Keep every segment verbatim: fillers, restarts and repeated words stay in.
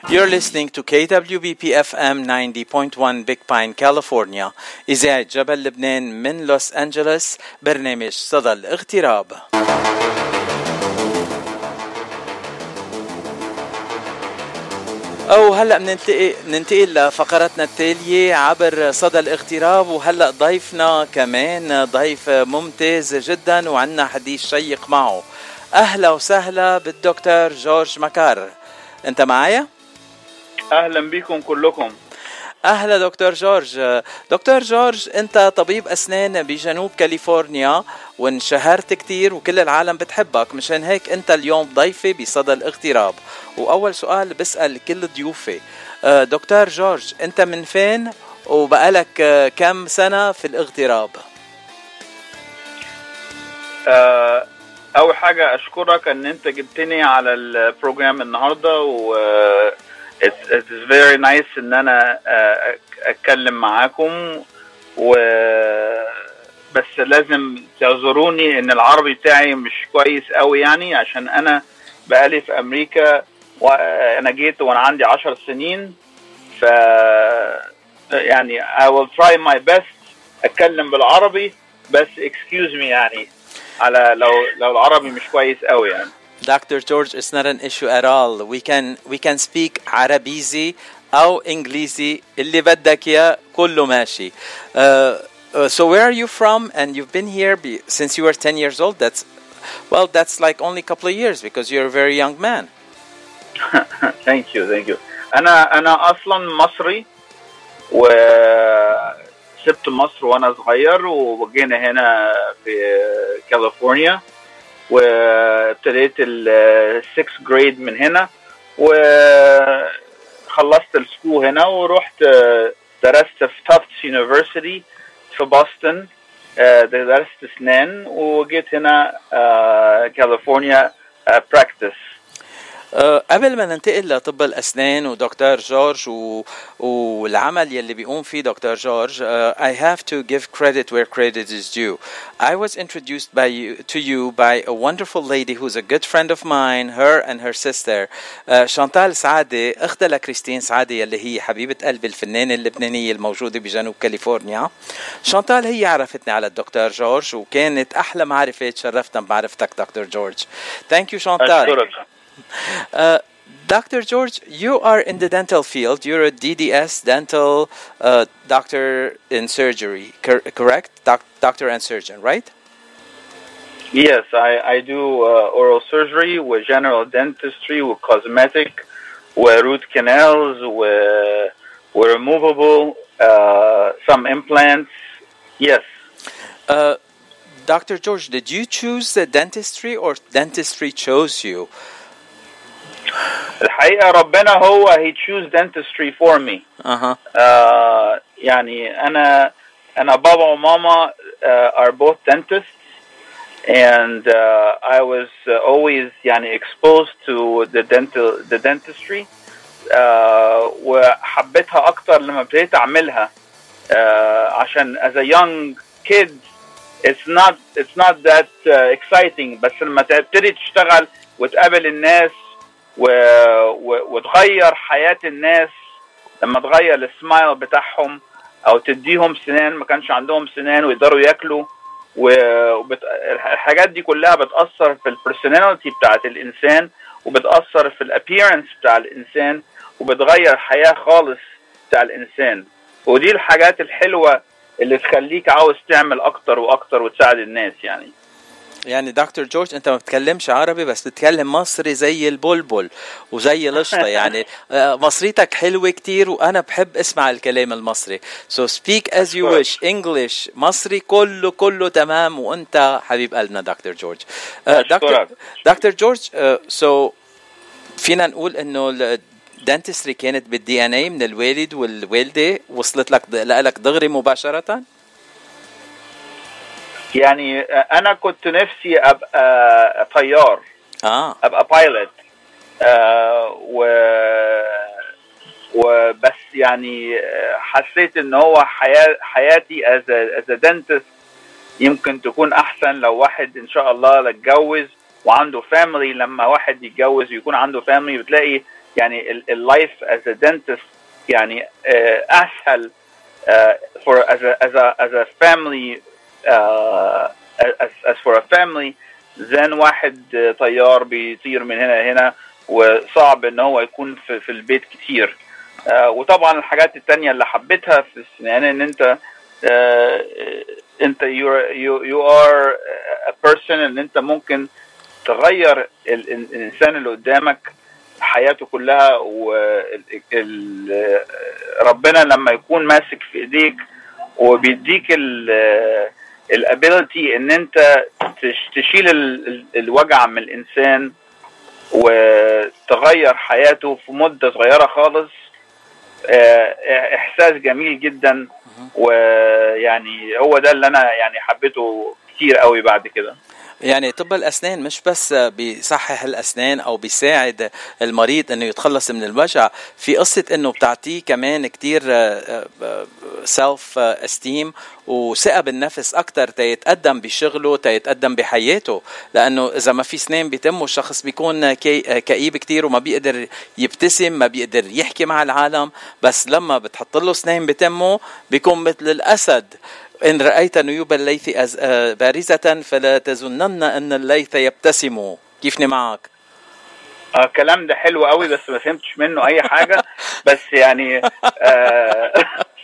You're listening to كي دبليو بي بي إف إم ninety point one Big Pine, California. إذاعة جبل لبنان من لوس أنجلوس. برنامج صدى الاغتراب. أو هلأ بننتقل ننتقل لفقرتنا التالية عبر صدى الاغتراب، وهلأ ضيفنا كمان ضيف ممتاز جدا وعنا حديث شيق معه. أهلا وسهلا بالدكتور جورج مكار. أنت معايا؟ أهلا بكم كلكم. أهلا دكتور جورج. دكتور جورج، أنت طبيب أسنان بجنوب كاليفورنيا وانشهرت كتير وكل العالم بتحبك، مشان هيك أنت اليوم ضيفي بصدى الاغتراب. وأول سؤال بسأل كل ضيوفي، دكتور جورج أنت من فين وبقالك كم سنة في الاغتراب؟ أه أول حاجة أشكرك أن أنت جبتني على البروجرام النهاردة، و It's, it's very nice ان انا اتكلم معاكم، و بس لازم تعذروني ان العربي بتاعي مش كويس قوي، يعني عشان انا بقالي في امريكا وانا جيت وانا عندي عشر سنين، ف يعني I will try my best اتكلم بالعربي، بس excuse me يعني على لو لو العربي مش كويس قوي يعني. Doctor George, it's not an issue at all. We can we can speak عربيزي أو إنجليزي، اللي بدك يا كله ماشي. Uh, uh, so where are you from? And you've been here be, since you were ten years old. That's well, that's like only a couple of years because you're a very young man. Thank you, thank you. أنا أنا أصلاً مصري، وسبت مصر وأنا صغير وجينا هنا في كاليفورنيا، وابتديت السكس جريد من هنا، وخلصت السكول هنا ورحت درست في تافتس يونيفرسيتي في بوسطن، درست اسنان، وجيت هنا كاليفورنيا براكتس. أه قبل ما ننتقل لطب الأسنان ودكتور جورج و... والعمل يلي بيقوم فيه دكتور جورج، uh, I have to give credit where credit is due. I was introduced by you, to you by a wonderful lady who's a good friend of mine, her and her sister, uh, شانتال سعادة، أختها لكريستين سعادة يلي هي حبيبة قلب الفنانة اللبنانية الموجودة بجنوب كاليفورنيا. شانتال هي عرفتني على الدكتور جورج، وكانت أحلى معرفة، تشرفتنا بمعرفتك دكتور جورج. Thank you شانتال. أشكرك. Uh, Doctor George, you are in the dental field. You're a D D S, dental uh, doctor in surgery, cor- correct? Doc- doctor and surgeon, right? Yes, I, I do uh, oral surgery with general dentistry, with cosmetic, with root canals, with, with removable, uh, some implants. Yes. Uh, Doctor George, did you choose the dentistry or dentistry chose you? الحقيقة ربنا هو he choose dentistry for me. Uh-huh. uh, يعني أنا أنا بابا وماما uh, are both dentists, and uh, I was uh, always يعني exposed to the dental the dentistry, uh, وحبيتها أكتر لما ابتديت أعملها, uh, عشان as a young kid it's not it's not that uh, exciting, بس لما تبتدي تشتغل وتقابل الناس و... و... وتغير حياة الناس، لما تغير السمايل بتاعهم او تديهم سنان ما كانش عندهم سنان ويقدروا ياكلوا، والحاجات وبت... دي كلها بتأثر في البرسوناليتي بتاعت الانسان، وبتأثر في الابيرنس بتاع الانسان، وبتغير حياة خالص بتاع الانسان. ودي الحاجات الحلوة اللي تخليك عاوز تعمل اكتر واكتر وتساعد الناس. يعني يعني دكتور جورج انت ما بتكلمش عربي بس بتتكلم مصري زي البلبل وزي القشطه، يعني مصريتك حلوه كتير وانا بحب اسمع الكلام المصري. So speak as you wish. English مصري كله كله تمام، وانت حبيب قلبنا دكتور جورج. دكتور دكتور جورج، so فينا نقول انه الدنتستري كانت بالدي ان اي من الوالد والوالده، وصلت لك لك دغري مباشره؟ يعني انا كنت نفسي ابقى طيار، اه ابقى بايلوت، آه و وبس يعني حسيت ان هو حياة حياتي as a, as a dentist يمكن تكون احسن لو واحد ان شاء الله اتجوز وعنده فاميلي. لما واحد يتجوز ويكون عنده فاميلي بتلاقي يعني اللايف as a dentist يعني uh, أسهل uh, for as a as a as a family uh, as as for a family than واحد طيار بيطير من هنا لهنا وصعب ان هو يكون في, في البيت كتير. uh, وطبعا الحاجات التانية اللي حبيتها في السنان ان انت uh, انت you you you are a person ان انت ممكن تغير الانسان اللي قدامك حياته كلها. وربنا لما يكون ماسك في ايديك وبيديك الابيليتي ان انت تشيل الوجع من الانسان وتغير حياته في مدة صغيرة خالص، احساس جميل جدا. ويعني هو ده اللي انا يعني حبيته كتير قوي بعد كده. يعني طب الأسنان مش بس بيصحح الأسنان أو بيساعد المريض أنه يتخلص من الوجع، في قصة أنه بتعطيه كمان كتير سيلف استيم وثقة بالنفس أكتر تيتقدم بشغله تيتقدم بحياته. لأنه إذا ما في سنان بيتمه الشخص بيكون كئيب كتير وما بيقدر يبتسم، ما بيقدر يحكي مع العالم. بس لما بتحط له سنان بتمه بيكون مثل الأسد. إن رأيت نيوب الليث بارزة فلا تظنن أن الليث يبتسم. كيفني معك؟ آه الكلام ده حلو قوي بس ما فهمتش منه أي حاجة. بس يعني آه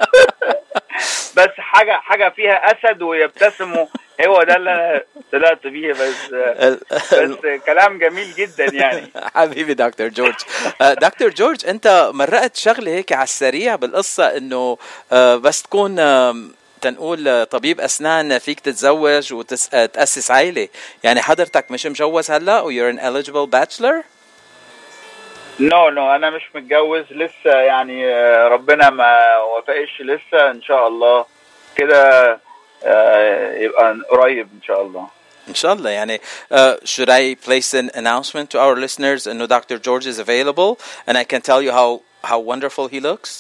بس حاجة حاجة فيها أسد ويبتسموا، هو ده اللي أنا طلعت بيه. بس بس كلام جميل جدا يعني. حبيبي دكتور جورج. دكتور جورج، أنت مرقت شغلة هيك على السريع بالقصة إنه بس تكون تنقول طبيب أسنان فيك تتزوج وتأسس عائلة. يعني حضرتك مش مجوز هلا و you're an eligible bachelor؟ نو no, نو no, أنا مش متجوز لسه، يعني ربنا ما وفقش لسه. إن شاء الله كده يبقى قريب إن شاء الله. إن شاء الله. يعني uh, should I place an announcement to our listeners إنه دكتور George is available and I can tell you how how wonderful he looks؟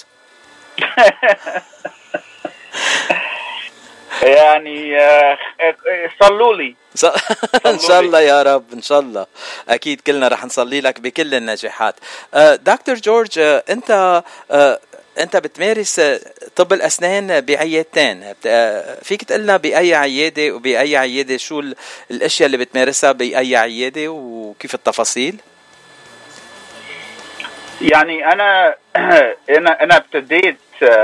يعني صلوا لي ان شاء الله يا رب. ان شاء الله اكيد كلنا رح نصلي لك بكل النجاحات. دكتور جورج، انت انت بتمارس طب الاسنان بعيادتين، فيك تقلنا باي عياده وباي عياده شو الاشياء اللي بتمارسها باي عياده وكيف التفاصيل؟ يعني انا انا انا ابتديت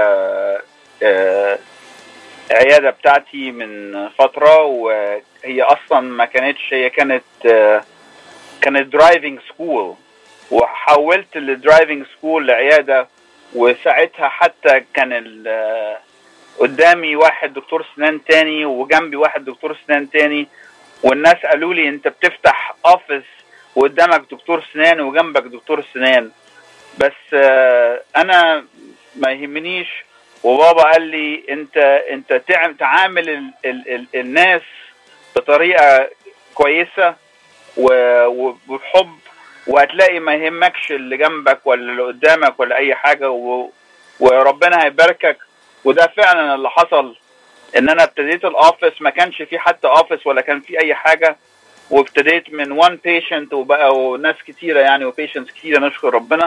عيادة بتاعتي من فترة، وهي أصلا ما كانتش، هي كانت كانت درايفنج سكول، وحولت الدرايفنج سكول لعيادة. وساعتها حتى كان قدامي واحد دكتور سنان تاني وجنبي واحد دكتور سنان تاني، والناس قالوا لي أنت بتفتح أوفيس وقدامك دكتور سنان وجنبك دكتور سنان. بس أنا ما يهمنيش، وبابا قال لي انت انت تعامل ال ال ال الناس بطريقه كويسه وبحب، وهتلاقي ما يهمكش اللي جنبك ولا اللي قدامك ولا اي حاجه، وربنا هيباركك. وده فعلا اللي حصل، ان انا ابتديت الاوفيس ما كانش في حتى اوفيس ولا كان في اي حاجه، وابتديت من وان بيشنت وبقى ناس كتيره يعني وبيشنتس كتيره نشكر ربنا.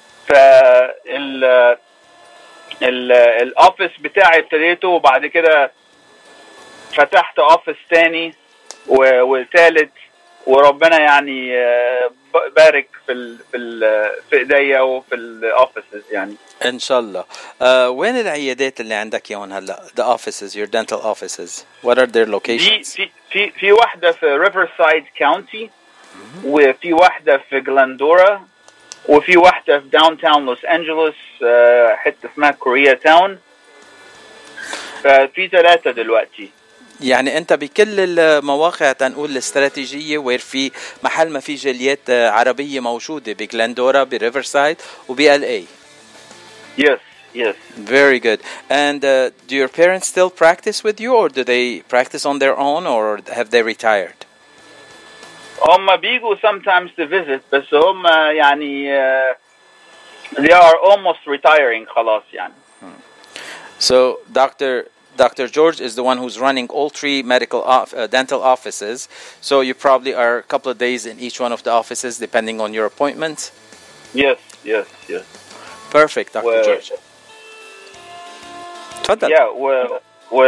فال الاوفيس بتاعي ابتديته، وبعد كده فتحت اوفيس تاني وثالث، وربنا يعني بارك في ال في ال في ايديا وفي الاوفيسز يعني ان شاء الله. uh, وين العيادات اللي عندك يوم هلا؟ the offices, your dental offices, what are their locations؟ في في في واحده في ريفرسايد كاونتي، وفي واحده في جلاندورا، وفي واحدة في داون تاون لوس أنجلوس حتة اسمها كوريا تاون. ففي ثلاثة دلوقتي. يعني أنت بكل المواقع تنقول الاستراتيجية وير في محل ما في جاليات عربية موجودة بجلاندورا بريفرسايد وبي ال اي. Yes, yes. Very good. And uh, do your parents still practice with you, or do they practice on their own, or have they retired? هم بيجوا sometimes to visit، بس هم يعني uh, they are almost retiring خلاص يعني. So Doctor Doctor George is the one who's running all three medical off, uh, dental offices. So you probably are a couple of days in each one of the offices depending on your appointments. Yes, yes, yes. Perfect, Doctor و... George. تفضل. Yeah, و... و...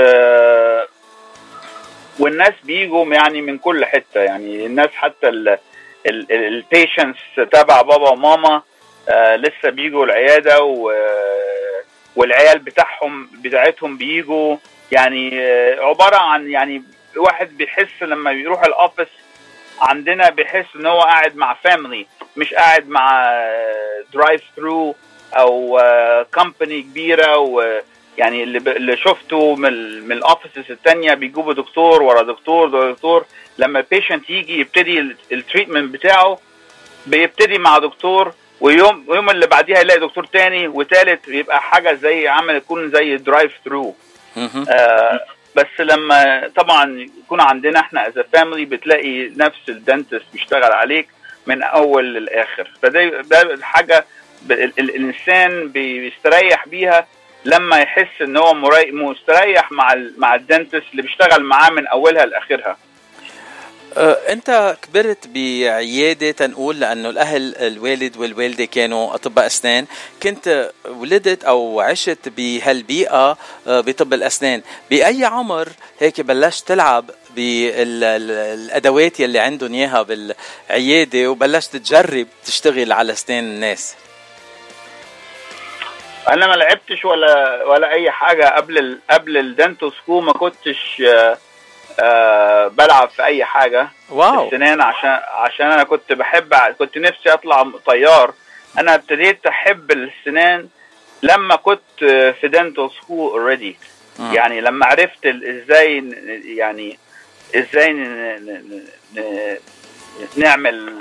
والناس بيجوا يعني من كل حتة، يعني الناس حتى ال البيشنتس تبع بابا وماما آه لسه بيجوا العيادة، و... والعيال بتاعهم بتاعتهم بيجوا، يعني آه عبارة عن يعني واحد بيحس لما بيروح الأوفيس عندنا بيحس ان هو قاعد مع فاميلي، مش قاعد مع درايف ثرو او كومباني كبيره. ويعني اللي, اللي شفته من من الاوفيسز الثانيه بيجيبوا دكتور ورا دكتور ورا دكتور. لما البيشنت يجي يبتدي التريتمنت بتاعه بيبتدي مع دكتور، ويوم ويوم اللي بعديها يلاقي دكتور تاني وثالث، يبقى حاجه زي عمل يكون زي درايف ثرو. آه بس لما طبعا يكون عندنا احنا از فاميلي بتلاقي نفس الدنتست بيشتغل عليك من اول للاخر. فده ده الحاجه الانسان بيستريح بيها لما يحس ان هو مستريح مع مع الدنتست اللي بيشتغل معاه من اولها لاخرها. أنت كبرت بعيادة تنقول لأنه الأهل الوالد والوالدة كانوا أطباء أسنان، كنت ولدت أو عشت بهالبيئة بطب الأسنان. بأي عمر هيك بلشت تلعب بالأدوات يلي عندهم إياها بالعيادة وبلشت تجرب تشتغل على أسنان الناس؟ أنا ما لعبتش ولا ولا أي حاجة قبل ال قبل الدنتو سكول، ما كنتش أه بلعب في اي حاجه. واو. السنان عشان عشان انا كنت بحب، كنت نفسي اطلع طيار. انا ابتديت احب السنان لما كنت في دنتال سكول اوريدي، يعني لما عرفت ازاي يعني ازاي نعمل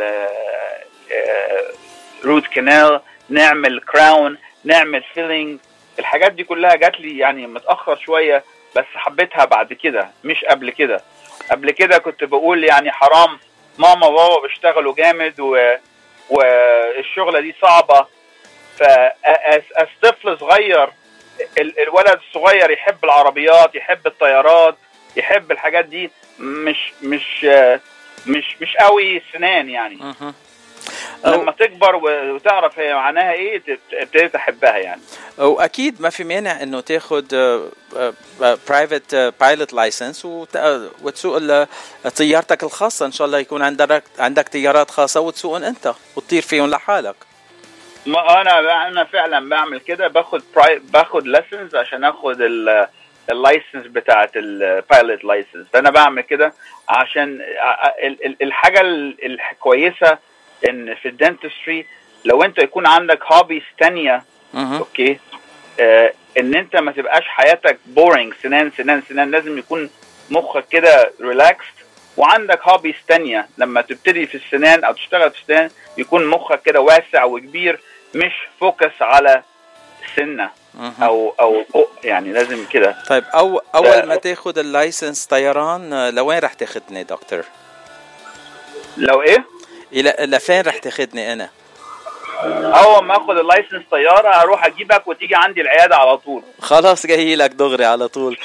روت كانال، نعمل كراون، نعمل فيلينج. الحاجات دي كلها جات لي يعني متاخر شويه، بس حبيتها بعد كده مش قبل كده. قبل كده كنت بقول يعني حرام، ماما وبابا بيشتغلوا جامد و... والشغلة دي صعبة. فأس طفل صغير، ال... الولد الصغير يحب العربيات، يحب الطيارات، يحب الحاجات دي، مش مش مش مش قوي السنان يعني. لما تكبر وتعرف هي معناها ايه تبتدي تحبها يعني. واكيد ما في مانع انه تاخد برايفت بايلوت لايسنس وتسوق طيارتك الخاصه، ان شاء الله يكون عندك عندك طيارات خاصه وتسوقهم انت وتطير فيهم لحالك. ما انا انا فعلا بعمل كده، باخد باخد ليسنز عشان اخد اللايسنس بتاعه البايلوت لايسنس. فانا بعمل كده عشان الحاجه الكويسه ان في الدنتستري لو انت يكون عندك هوبيز تانية اوكي، آه ان انت ما تبقاش حياتك بورينج سنان سنان سنان. لازم يكون مخك كده ريلاكسد وعندك هوبيز تانية. لما تبتدي في السنان او تشتغل في السنان يكون مخك كده واسع وكبير، مش فوكس على سنة او او يعني لازم كده. طيب أو اول ما تاخد اللايسنس طيران لوين رح تاخدني دكتور؟ لو ايه؟ الى لفين رح تاخدني انا؟ اول ما اخد اللايسنس طياره هروح اجيبك وتيجي عندي العياده على طول. خلاص جاي لك دغري على طول.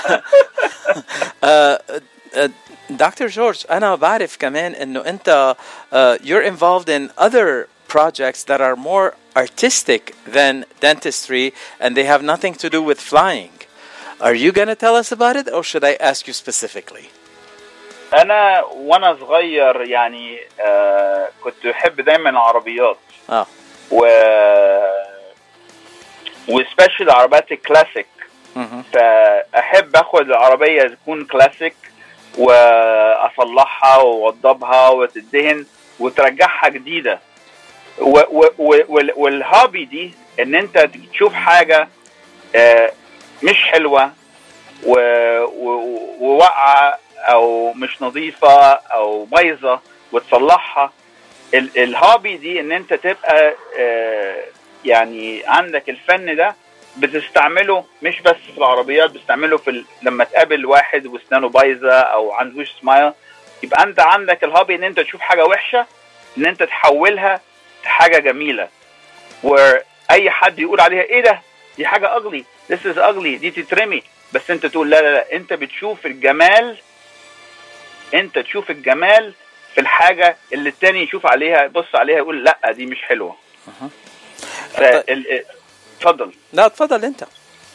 دكتور جورج، انا بعرف كمان انه انت uh, you're involved in other projects that are more artistic than dentistry and they have nothing to do with flying. Are you going to tell us about it or should I ask you specifically? انا وانا صغير يعني آه كنت بحب دايما العربيات اه و وسبيشال العربيات الكلاسيك. فاحب اخد العربيه تكون كلاسيك واصلحها واوضبها وتدهن وترجعها جديده. و... و... و... والهابي دي ان انت تشوف حاجه آه مش حلوه ووقعه او مش نظيفة او بايظة وتصلحها. الهابي دي ان انت تبقى آه يعني عندك الفن ده بتستعمله مش بس في العربيات، بتستعمله في ال... لما تقابل واحد واسنانه بايظة او عندوش سمايل، يبقى انت عندك الهابي ان انت تشوف حاجة وحشة ان انت تحولها لحاجة جميلة، واي حد يقول عليها ايه ده دي حاجة ugly this is ugly دي تترمي، بس انت تقول لا لا لا انت بتشوف الجمال، انت تشوف الجمال في الحاجة اللي التاني يشوف عليها يبص عليها يقول لا دي مش حلوة. اتفضل. لا اتفضل انت.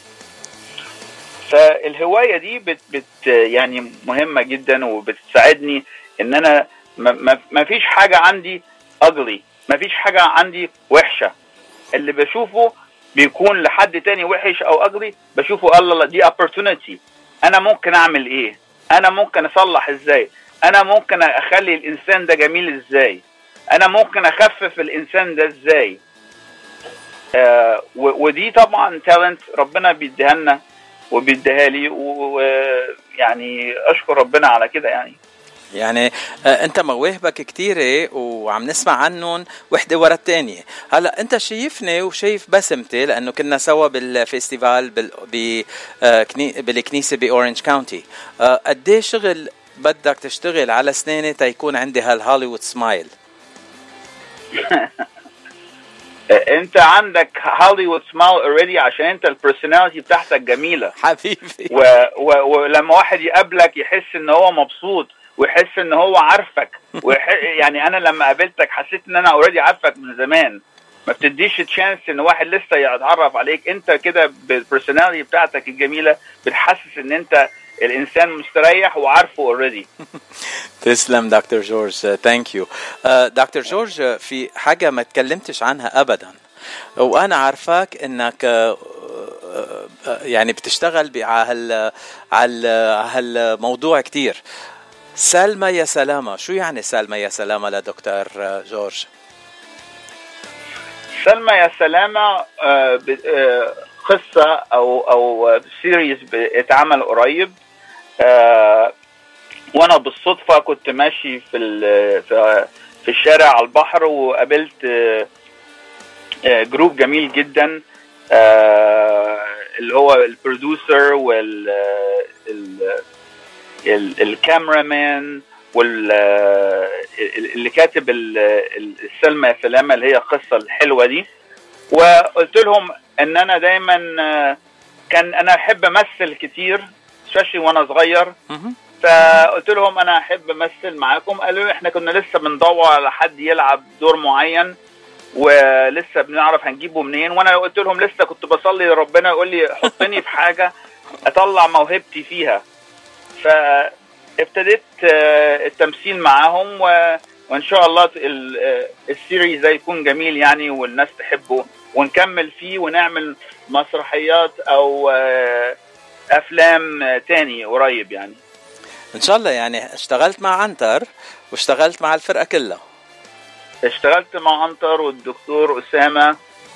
فالهوايه دي بت, بت يعني مهمه جدا وبتساعدني ان انا ما, ما فيش حاجه عندي ugly، ما فيش حاجه عندي وحشه. اللي بشوفه بيكون لحد تاني وحش او ugly بشوفه الله دي opportunity، انا ممكن اعمل ايه، انا ممكن اصلح ازاي، انا ممكن اخلي الانسان ده جميل ازاي، انا ممكن اخفف الانسان ده ازاي. آه ودي طبعا تالنت ربنا بيديها لنا وبيديها لي، ويعني اشكر ربنا على كده. يعني يعني انت مواهبك كتيرة وعم نسمع عنهم وحدة ورا التانية. هلا انت شايفني وشايف بسمتي لانه كنا سوا بالفيستيفال بالكنيسة باورنج كاونتي. قديه شغل بدك تشتغل على سنينة تيكون عندي هالهوليوود سمايل؟ انت عندك هوليوود سمايل اوريدي عشان انت البرسوناليتي بتاعتك جميلة حبيبي. ولما واحد يقابلك يحس ان هو مبسوط ويحس ان هو عارفك ويح... يعني انا لما قابلتك حسيت ان انا اوريدي عارفك من زمان. ما بتديش تشانس ان واحد لسه يتعرف عليك. انت كده بالبرسوناليتي بتاعتك الجميله بتحسس ان انت الانسان مستريح وعارفه اوريدي. تسلم دكتور جورج، ثانك يو. دكتور جورج، في حاجه ما تكلمتش عنها ابدا وانا عارفاك انك يعني بتشتغل على على هالموضوع كتير. سلمى يا سلامة، شو يعني سلمى يا سلامة لدكتور جورج؟ سلمى يا سلامة قصة أو أو سيريز اتعمل قريب، وأنا بالصدفة كنت ماشي في في الشارع على البحر وقابلت جروب جميل جدا اللي هو البروديوسر وال الكاميرامان واللي كاتب السلمى يا سلامة اللي هي القصة الحلوة دي. وقلت لهم ان انا دايما كان انا احب امثل كتير especially وانا صغير، فقلت لهم انا احب امثل معاكم. قالوا احنا كنا لسه بندور على حد يلعب دور معين ولسه بنعرف هنجيبه منين، وانا قلت لهم لسه كنت بصلي لربنا يقول لي حطني في حاجة اطلع موهبتي فيها. فابتديت التمثيل معاهم وان شاء الله السيريز ده يكون جميل يعني والناس تحبه ونكمل فيه ونعمل مسرحيات او افلام تاني قريب يعني ان شاء الله. يعني اشتغلت مع عنتر واشتغلت مع الفرقة كلها. اشتغلت مع عنتر والدكتور أسامة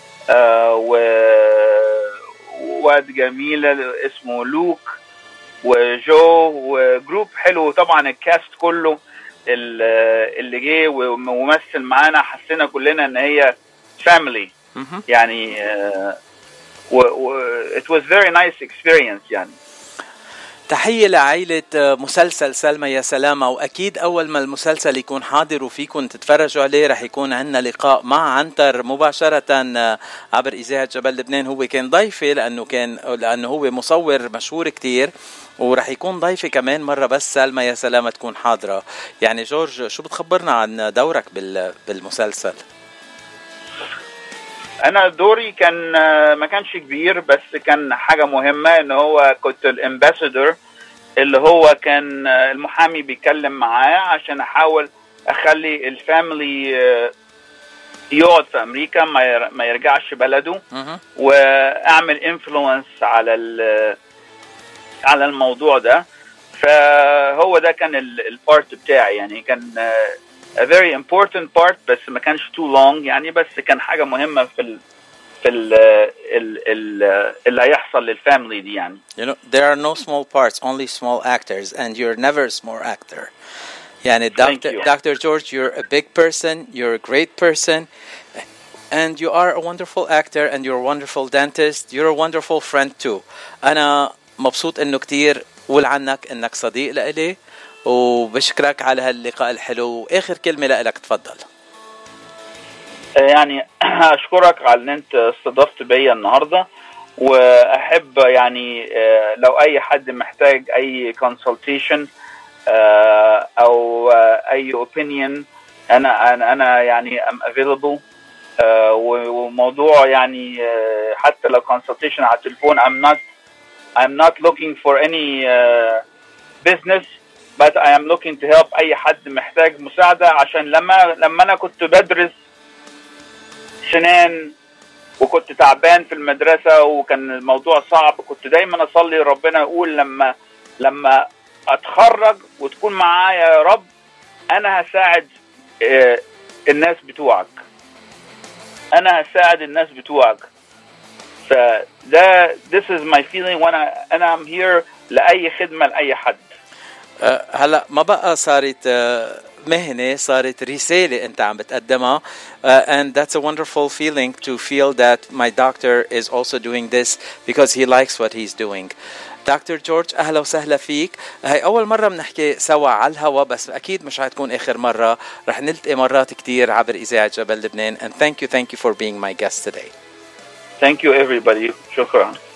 وواد جميلة اسمه لوك وجو وجروب حلو. طبعا الكاست كله اللي جه وممثل معانا حسينا كلنا ان هي فاميلي يعني و, و it was very nice experience يعني. تحية لعائلة مسلسل سلمى يا سلامة، وأكيد أول ما المسلسل يكون حاضر وفيكم تتفرجوا عليه رح يكون عندنا لقاء مع عنتر مباشرة عبر إذاعة جبل لبنان. هو كان ضيفي لأنه كان لأنه هو مصور مشهور كتير ورح يكون ضيفي كمان مرة بس سلمى يا سلامة تكون حاضرة. يعني جورج شو بتخبرنا عن دورك بالمسلسل؟ أنا دوري كان ما كانش كبير بس كان حاجة مهمة إن هو كنت الامباسادور اللي هو كان المحامي بيكلم معاه عشان أحاول أخلي الفاميلي يقعد في أمريكا ما يرجعش بلده وأعمل إنفلونس على على الموضوع ده. فهو ده كان البارت بتاعي يعني كان a very important part بس ما كانش too long يعني بس كان حاجة مهمة في ال في ال ال ال اللي هيحصل للفاميلي دي يعني. You know there are no small parts, only small actors and you're never a small actor. يعني Doctor Doctor George, you're a big person, you're a great person and you are a wonderful actor and you're a wonderful dentist, you're a wonderful friend too. أنا مبسوط إنه كتير قول عنك إنك صديق لإلي وبشكرك على هاللقاء الحلو. واخر كلمه لك تفضل. يعني اشكرك على ان انت استضفت بيا النهارده واحب يعني لو اي حد محتاج اي كونسلتيشن او اي اوبينيون انا انا انا يعني ام افيلبل وموضوع يعني حتى لو consultation على التليفون I'm not I'm not looking for any uh, business but I am looking to help أي حد محتاج مساعدة. عشان لما لما أنا كنت بدرس سنان وكنت تعبان في المدرسة وكان الموضوع صعب، كنت دايما أصلي ربنا يقول لما لما أتخرج وتكون معايا يا رب أنا هساعد uh, الناس بتوعك، أنا هساعد الناس بتوعك. فده this is my feeling وانا انا I'm here لاي خدمه لاي حد. أه هلا ما بقى صارت أه مهنه، صارت رساله انت عم بتقدمها. uh, and that's a wonderful feeling to feel that my doctor is also doing this because he likes what he's doing. دكتور جورج أهلا وسهلا فيك. هاي أول مرة بنحكي سوا على الهوا، بس أكيد مش هتكون آخر مرة، رح نلتقي مرات كتير عبر إذاعة جبل لبنان. and thank you thank you for being my guest today. Thank you everybody. شكرا.